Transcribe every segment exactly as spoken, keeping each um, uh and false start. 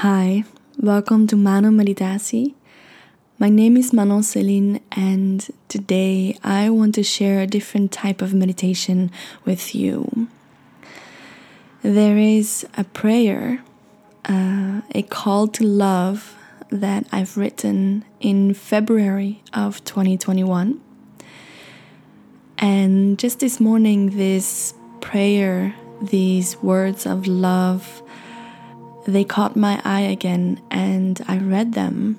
Hi, welcome to Mano Meditatie. My name is Manon Celine, and today I want to share a different type of meditation with you. There is a prayer, uh, a call to love that I've written in February of twenty twenty-one. And just this morning, this prayer, these words of love, they caught my eye again, and I read them.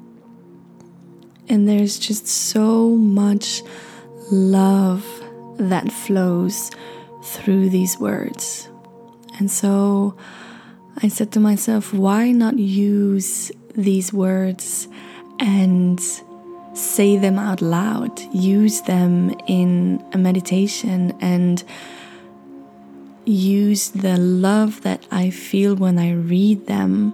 And there's just so much love that flows through these words. And so I said to myself, why not use these words and say them out loud? Use them in a meditation and use the love that I feel when I read them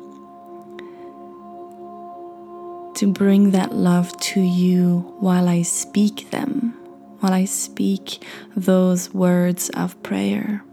to bring that love to you while I speak them, while I speak those words of prayer.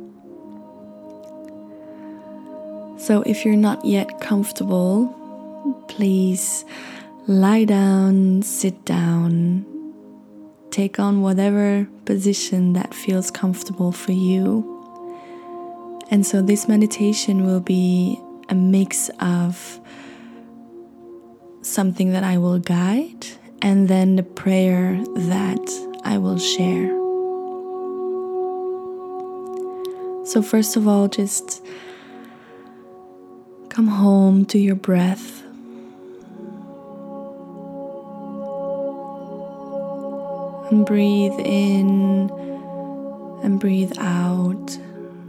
So if you're not yet comfortable, please lie down, sit down, take on whatever position that feels comfortable for you. And so this meditation will be a mix of something that I will guide and then the prayer that I will share. So first of all, just come home to your breath. And breathe in and breathe out.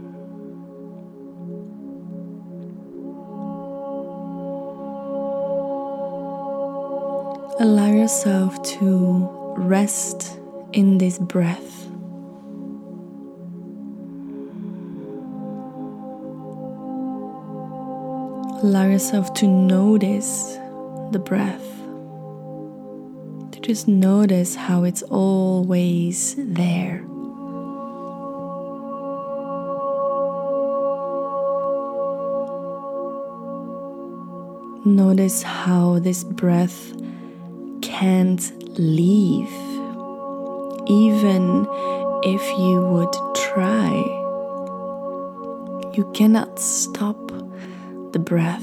Allow yourself to rest in this breath. Allow yourself to notice the breath. To just notice how it's always there. Notice how this breath can't leave, even if you would try. You cannot stop the breath.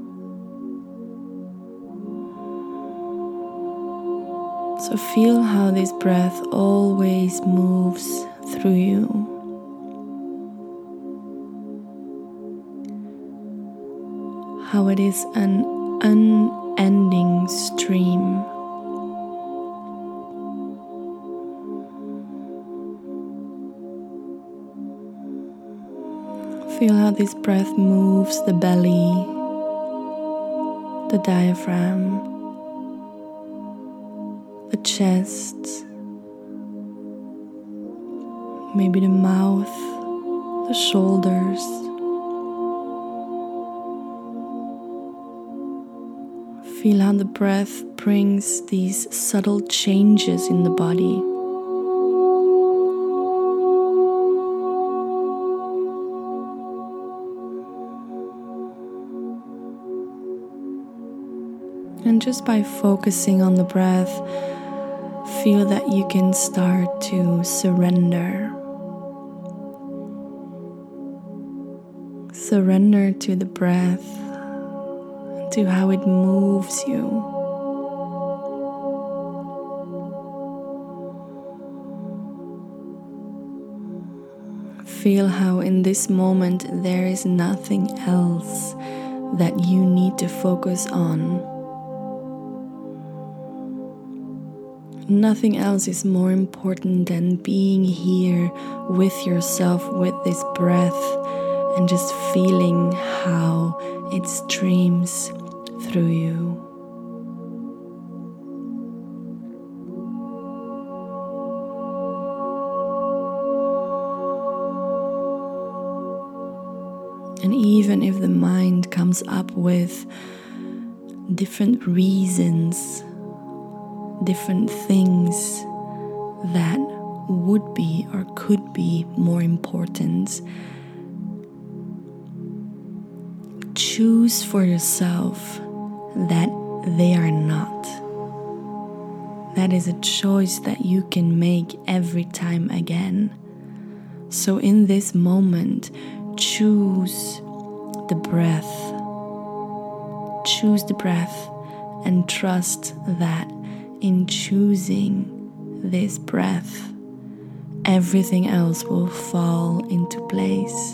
So feel how this breath always moves through you. How it is an unending stream. Feel how this breath moves the belly, the diaphragm, the chest, maybe the mouth, the shoulders. Feel how the breath brings these subtle changes in the body. And just by focusing on the breath, feel that you can start to surrender. Surrender to the breath, to how it moves you. Feel how in this moment there is nothing else that you need to focus on. Nothing else is more important than being here with yourself, with this breath, and just feeling how it streams through you. And even if the mind comes up with different reasons, different things that would be or could be more important, choose for yourself that they are not. That is a choice that you can make every time again. So in this moment, choose the breath. Choose the breath and trust that in choosing this breath, everything else will fall into place.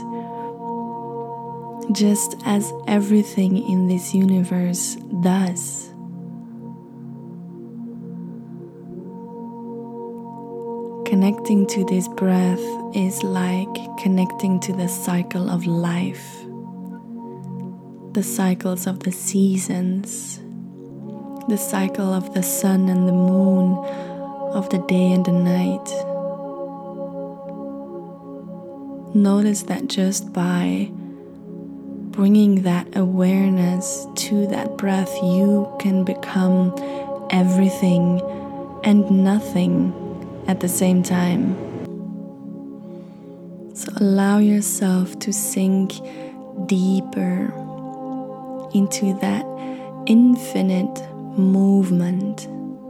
Just as everything in this universe does. Connecting to this breath is like connecting to the cycle of life, the cycles of the seasons, the cycle of the sun and the moon, of the day and the night. Notice that just by bringing that awareness to that breath, you can become everything and nothing at the same time. So allow yourself to sink deeper into that infinite movement.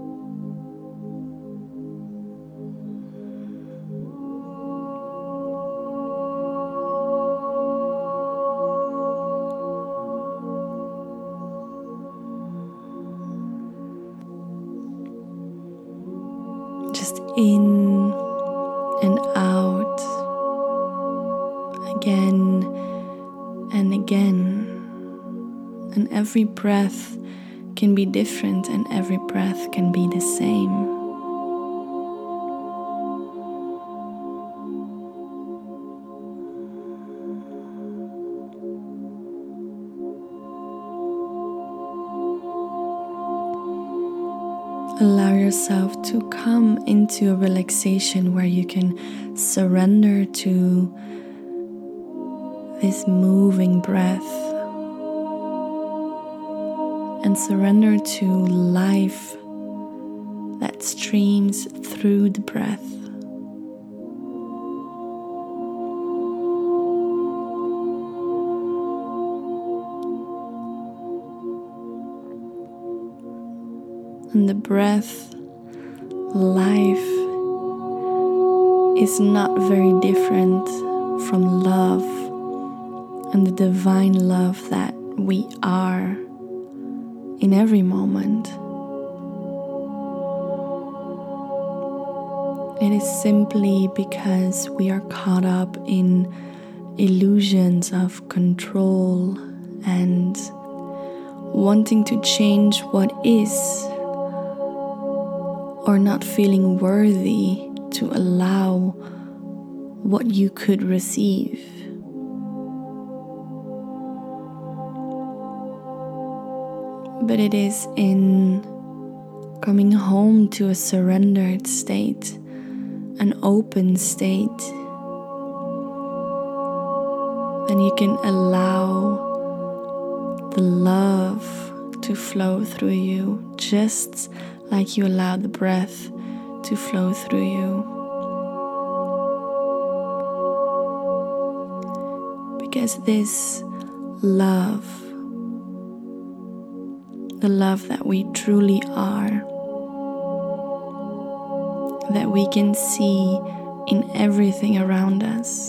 Just in and out, again and again. And every breath can be different, and every breath can be the same. Allow yourself to come into a relaxation where you can surrender to this moving breath and surrender to life that streams through the breath. And the breath, life, is not very different from love and the divine love that we are in every moment. It is simply because we are caught up in illusions of control and wanting to change what is, or not feeling worthy to allow what you could receive. But it is in coming home to a surrendered state, an open state, then you can allow the love to flow through you, just like you allow the breath to flow through you. Because this love, the love that we truly are, that we can see in everything around us,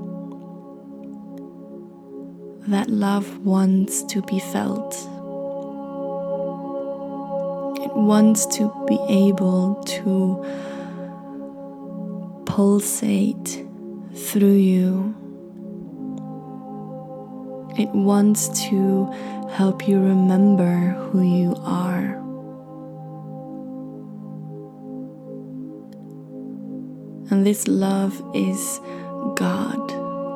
that love wants to be felt. It wants to be able to pulsate through you. It wants to help you remember who you are. And this love is God.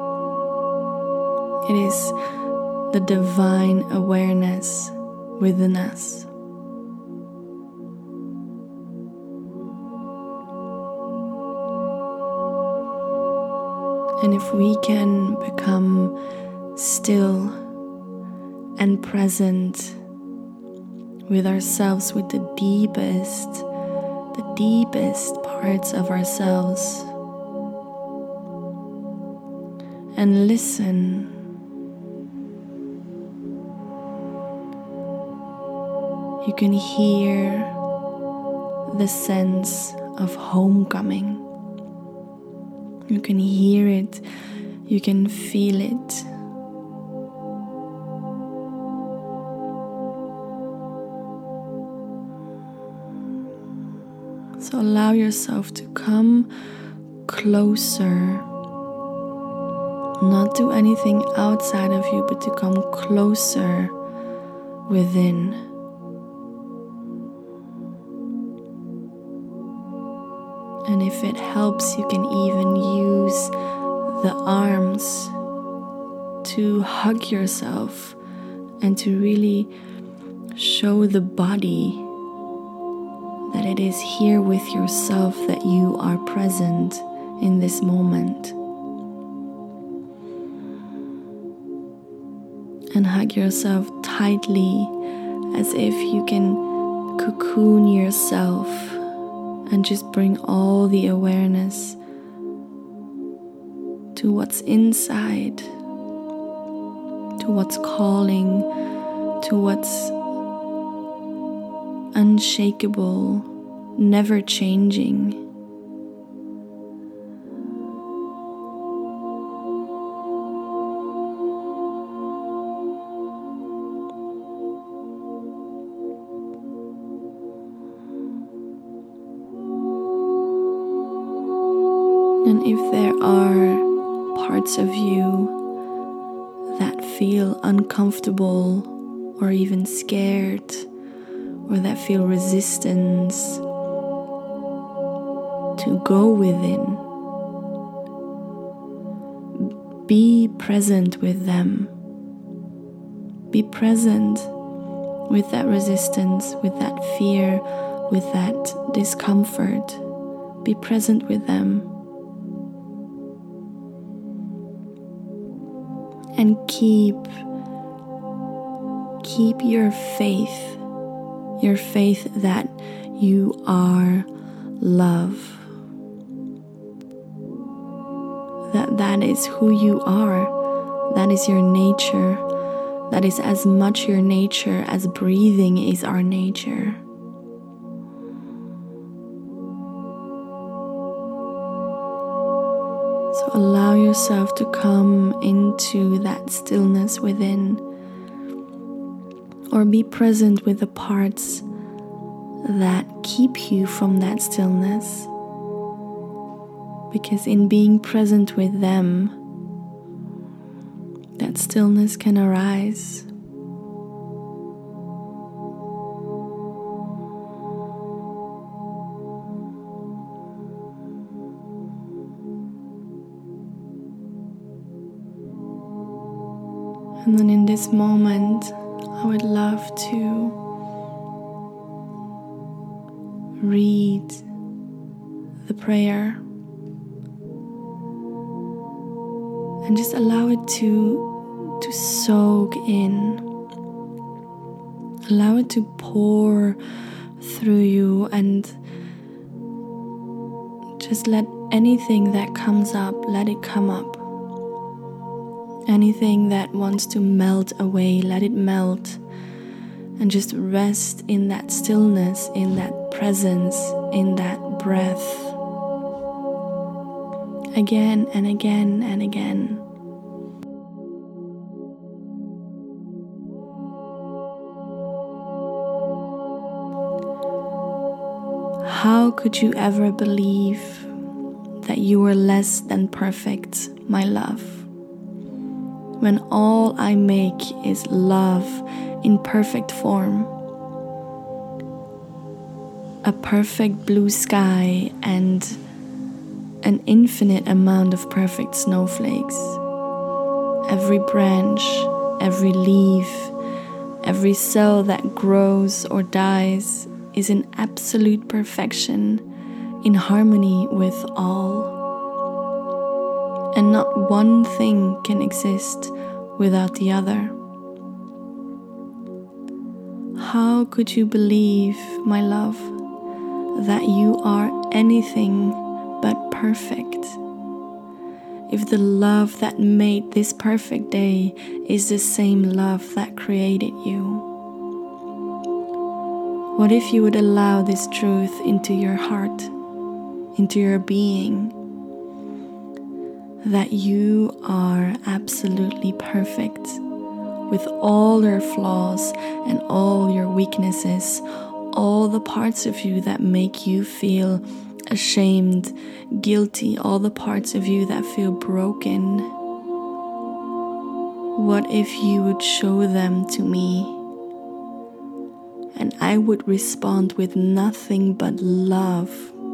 It is the divine awareness within us. And if we can become still and present with ourselves, with the deepest, the deepest parts of ourselves, and listen You can hear the sense of homecoming. You can hear it, you can feel it. So allow yourself to come closer, not do anything outside of you, but to come closer within. And if it helps, you can even use the arms to hug yourself and to really show the body that it is here with yourself, that you are present in this moment. And hug yourself tightly as if you can cocoon yourself and just bring all the awareness to what's inside, to what's calling, to what's unshakable, never changing. And if there are parts of you that feel uncomfortable or even scared, or that feel resistance to go within, be present with them. Be present with that resistance, with that fear, with that discomfort. Be present with them. And keep, keep your faith, your faith that you are love. That that is who you are. That is your nature. That is as much your nature as breathing is our nature. So allow yourself to come into that stillness within, or be present with the parts that keep you from that stillness. Because in being present with them, that stillness can arise. And then in this moment, I would love to read the prayer and just allow it to, to soak in. Allow it to pour through you, and just let anything that comes up, let it come up. Anything that wants to melt away, let it melt. And just rest in that stillness, in that presence, in that breath. Again and again and again. How could you ever believe that you were less than perfect, my love? When all I make is love in perfect form. A perfect blue sky and an infinite amount of perfect snowflakes. Every branch, every leaf, every cell that grows or dies is in absolute perfection, in harmony with all. And not one thing can exist without the other. How could you believe, my love, that you are anything but perfect? If the love that made this perfect day is the same love that created you. What if you would allow this truth into your heart, into your being, that you are absolutely perfect with all your flaws and all your weaknesses, all the parts of you that make you feel ashamed, guilty, all the parts of you that feel broken. What if you would show them to me, and I would respond with nothing but love,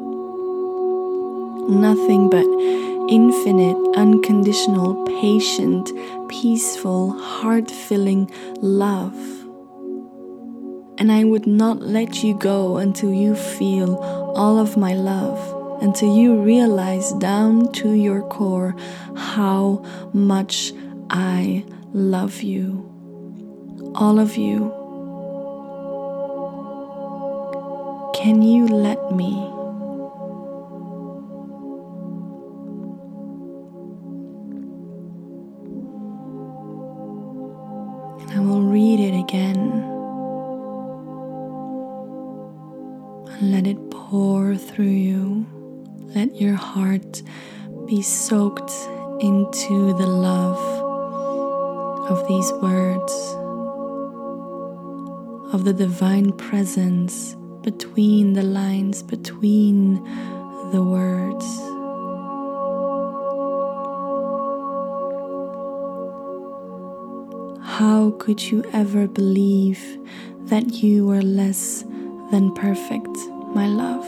nothing but infinite, unconditional, patient, peaceful, heart-filling love. And I would not let you go until you feel all of my love, until you realize down to your core how much I love you. All of you. Can you let me? I will read it again. And let it pour through you. Let your heart be soaked into the love of these words, of the divine presence between the lines, between the words. How could you ever believe that you are less than perfect, my love?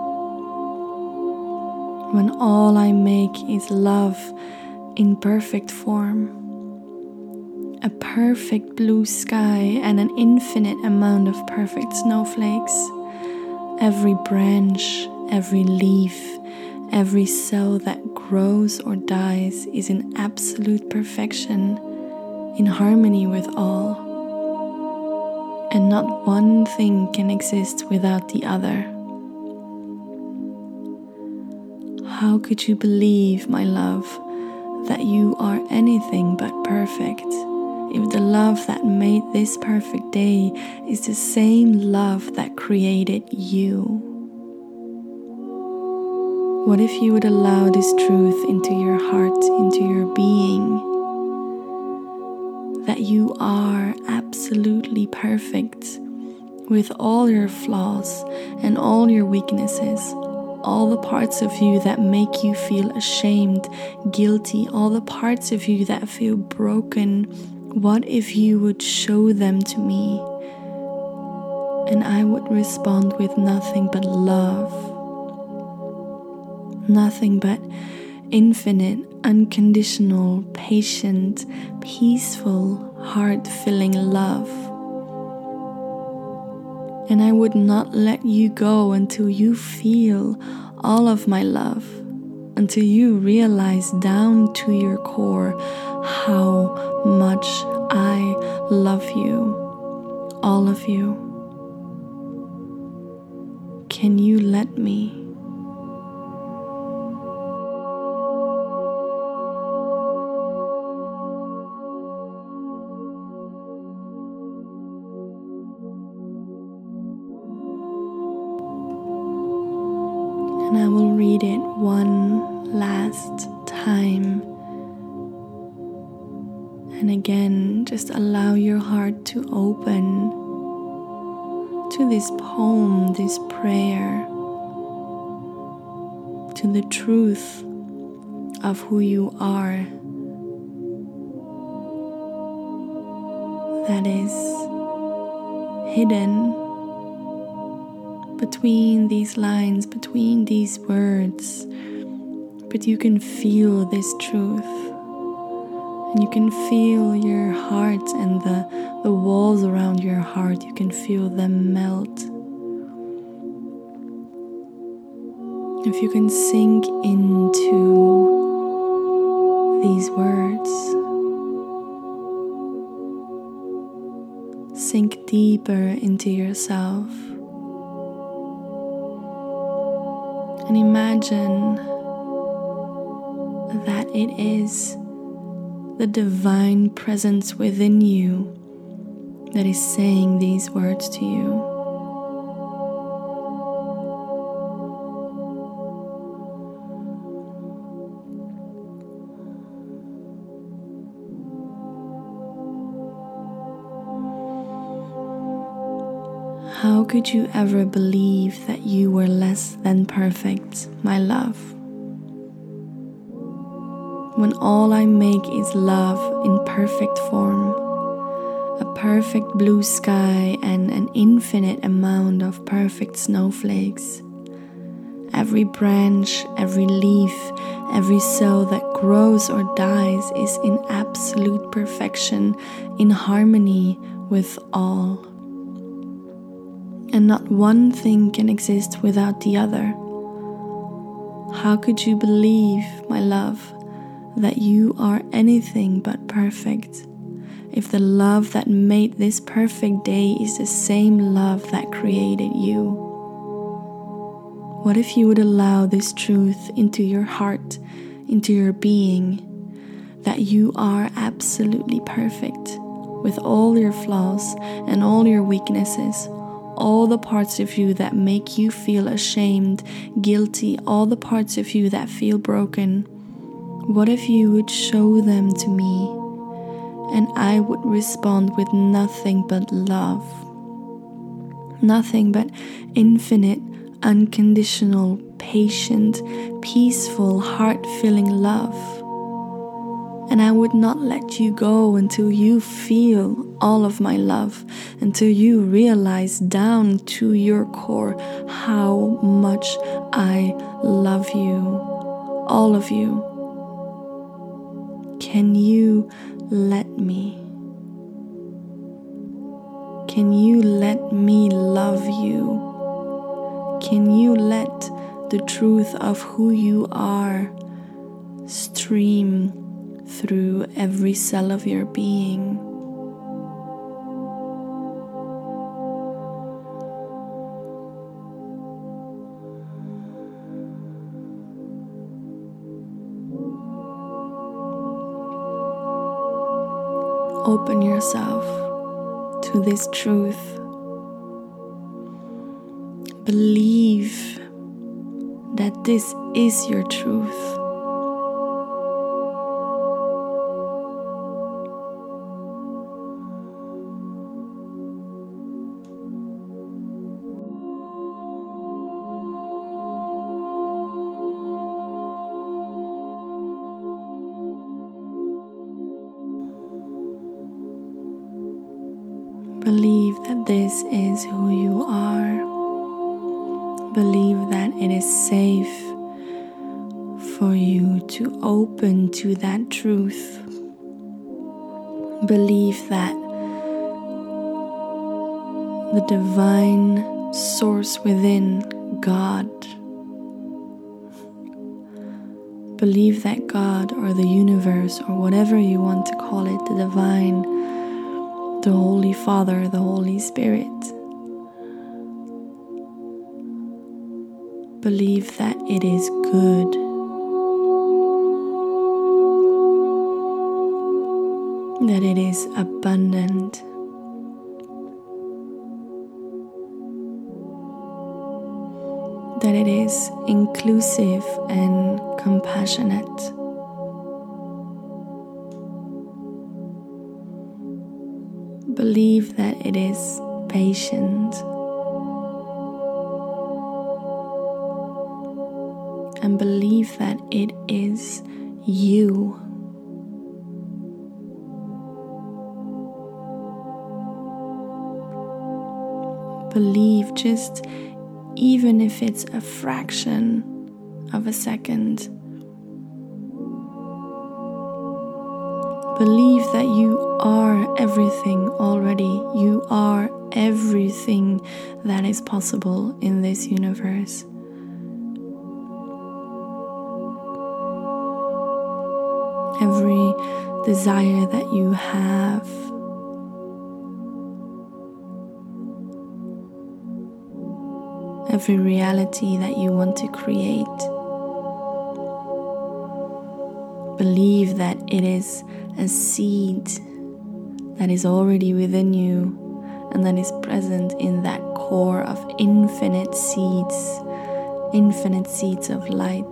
When all I make is love in perfect form, a perfect blue sky and an infinite amount of perfect snowflakes. Every branch, every leaf, every cell that grows or dies is in absolute perfection, in harmony with all. And not one thing can exist without the other. How could you believe, my love, that you are anything but perfect, if the love that made this perfect day is the same love that created you? What if you would allow this truth into your heart, into your being, that you are absolutely perfect with all your flaws and all your weaknesses, all the parts of you that make you feel ashamed, guilty, all the parts of you that feel broken? What if you would show them to me, and I would respond with nothing but love, nothing but infinite, unconditional, patient, peaceful, heart-filling love. And I would not let you go until you feel all of my love, until you realize down to your core how much I love you, all of you. Can you let me? And I will read it one last time. And again, just allow your heart to open to this poem, this prayer, to the truth of who you are, that is hidden between these lines, between these words. But you can feel this truth, and you can feel your heart and the, the walls around your heart, you can feel them melt. If you can sink into these words, sink deeper into yourself, and imagine that it is the divine presence within you that is saying these words to you. How could you ever believe that you were less than perfect, my love? When all I make is love in perfect form, a perfect blue sky and an infinite amount of perfect snowflakes. Every branch, every leaf, every cell that grows or dies is in absolute perfection, in harmony with all. And not one thing can exist without the other. How could you believe, my love, that you are anything but perfect, if the love that made this perfect day is the same love that created you? What if you would allow this truth into your heart, into your being, that you are absolutely perfect, with all your flaws and all your weaknesses, all the parts of you that make you feel ashamed, guilty, all the parts of you that feel broken? What if you would show them to me, and I would respond with nothing but love, nothing but infinite, unconditional, patient, peaceful, heart-filling love. And I would not let you go until you feel all of my love, until you realize down to your core how much I love you, all of you. Can you let me? Can you let me love you? Can you let the truth of who you are stream through every cell of your being? Open yourself to this truth. Believe that this is your truth. Believe that this is who you are. Believe that it is safe for you to open to that truth. Believe that the divine source within, God, believe that God or the universe or whatever you want to call it, the divine, the Holy Father, the Holy Spirit, believe that it is good. That it is abundant. That it is inclusive and compassionate. Believe that it is patient. And believe that it is you. Believe, just even if it's a fraction of a second. Believe that you are everything already. You are everything that is possible in this universe. Every desire that you have, every reality that you want to create, believe that it is a seed that is already within you and that is present in that core of infinite seeds, infinite seeds of light.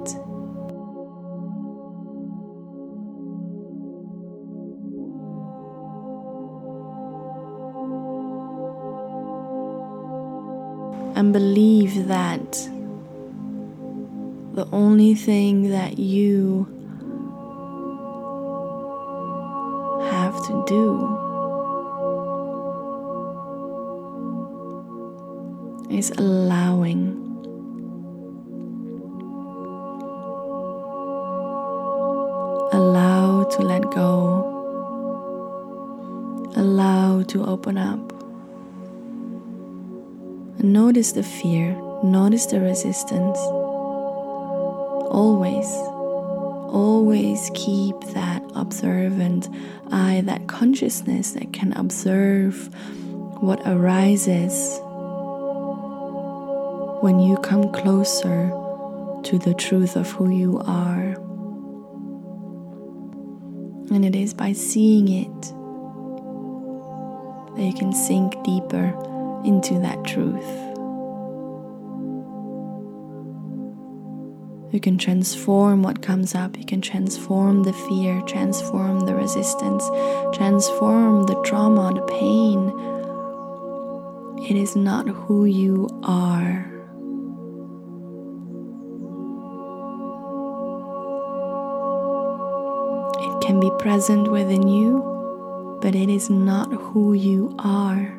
and believe that the only thing that you have to do is allowing. Allow to let go. Allow to open up. And notice the fear. Notice the resistance. Always, always keep that observant eye, that consciousness that can observe what arises when you come closer to the truth of who you are. And it is by seeing it that you can sink deeper into that truth. You can transform what comes up. You can transform the fear, transform the resistance, transform the trauma, the pain. It is not who you are. It can be present within you, but it is not who you are.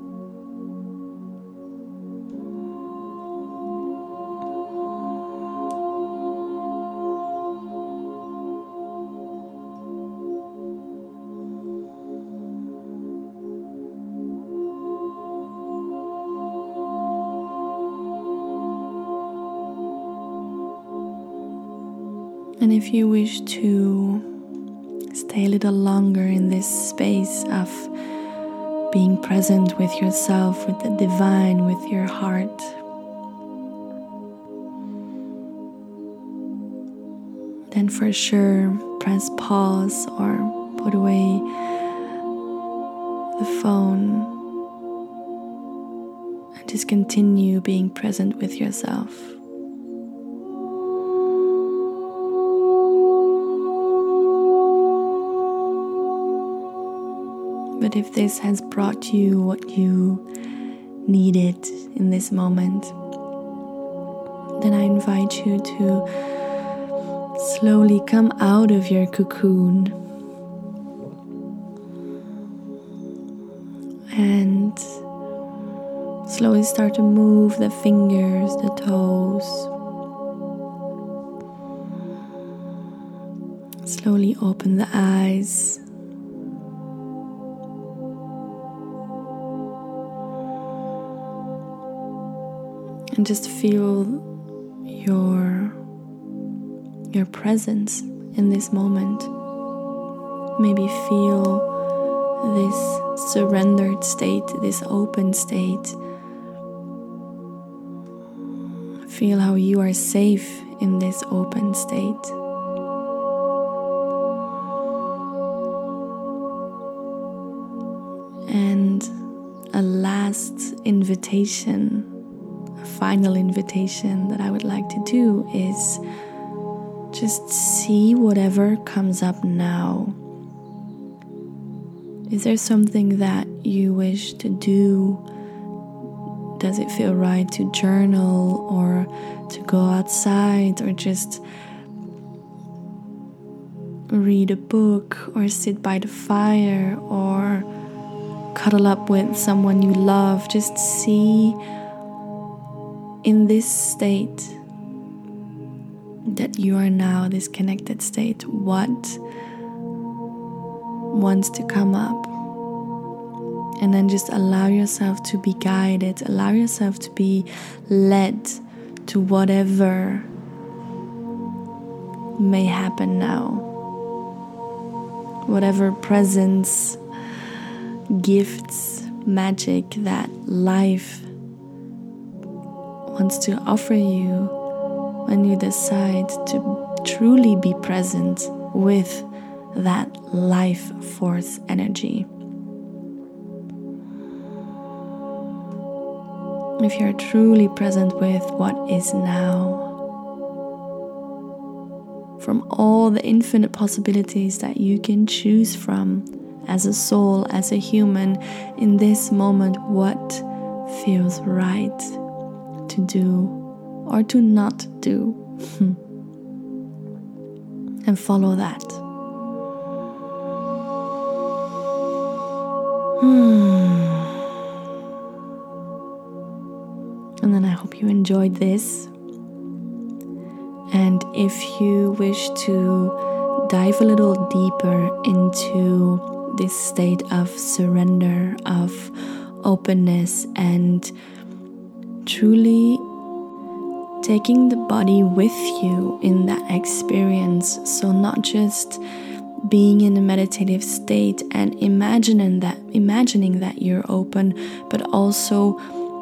And if you wish to stay a little longer in this space of being present with yourself, with the divine, with your heart, then for sure press pause or put away the phone and just continue being present with yourself. But if this has brought you what you needed in this moment, then I invite you to slowly come out of your cocoon and slowly start to move the fingers, the toes. Slowly open the eyes. And just feel your, your presence in this moment. Maybe feel this surrendered state, this open state. Feel how you are safe in this open state. And a last invitation, a final invitation that I would like to do is just see whatever comes up now. Is there something that you wish to do? Does it feel right to journal or to go outside or just read a book or sit by the fire or cuddle up with someone you love? Just see in this state that you are now, this connected state, what wants to come up. And then just allow yourself to be guided, allow yourself to be led to whatever may happen now. Whatever presence, gifts, magic that life wants to offer you when you decide to truly be present with that life force energy. If you're truly present with what is now, from all the infinite possibilities that you can choose from as a soul, as a human, in this moment, what feels right? to do or to not do. And follow that. Hmm. And then I hope you enjoyed this. And if you wish to dive a little deeper into this state of surrender, of openness, and truly taking the body with you in that experience, so not just being in a meditative state and imagining that imagining that you're open, but also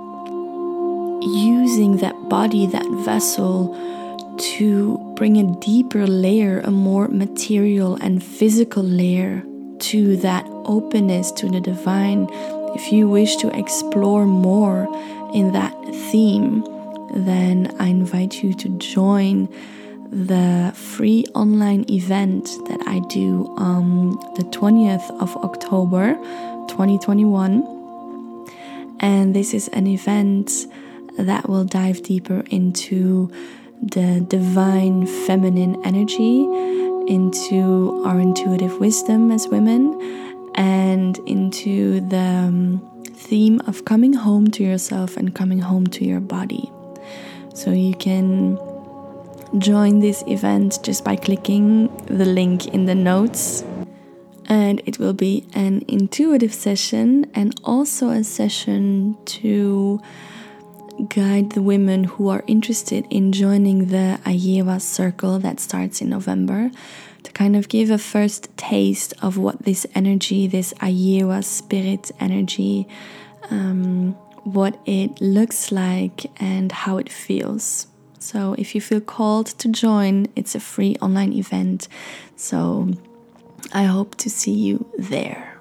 using that body, that vessel, to bring a deeper layer, a more material and physical layer to that openness to the divine. If you wish to explore more in that theme, then I invite you to join the free online event that I do on the twentieth of October twenty twenty-one. And this is an event that will dive deeper into the divine feminine energy, into our intuitive wisdom as women, and into the um, theme of coming home to yourself and coming home to your body. So you can join this event just by clicking the link in the notes. And it will be an intuitive session and also a session to guide the women who are interested in joining the Ayewa Circle that starts in November, to kind of give a first taste of what this energy, this Ayewa spirit energy, um, what it looks like and how it feels. So if you feel called to join, it's a free online event. So I hope to see you there.